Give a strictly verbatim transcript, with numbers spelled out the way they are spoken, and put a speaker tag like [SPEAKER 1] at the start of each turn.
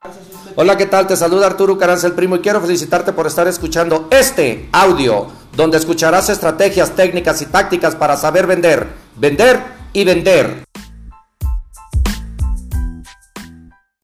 [SPEAKER 1] Hola, ¿qué tal? Te saluda Arturo Carranza, el primo, y quiero felicitarte por estar escuchando este audio, donde escucharás estrategias, técnicas y tácticas para saber vender, vender y vender.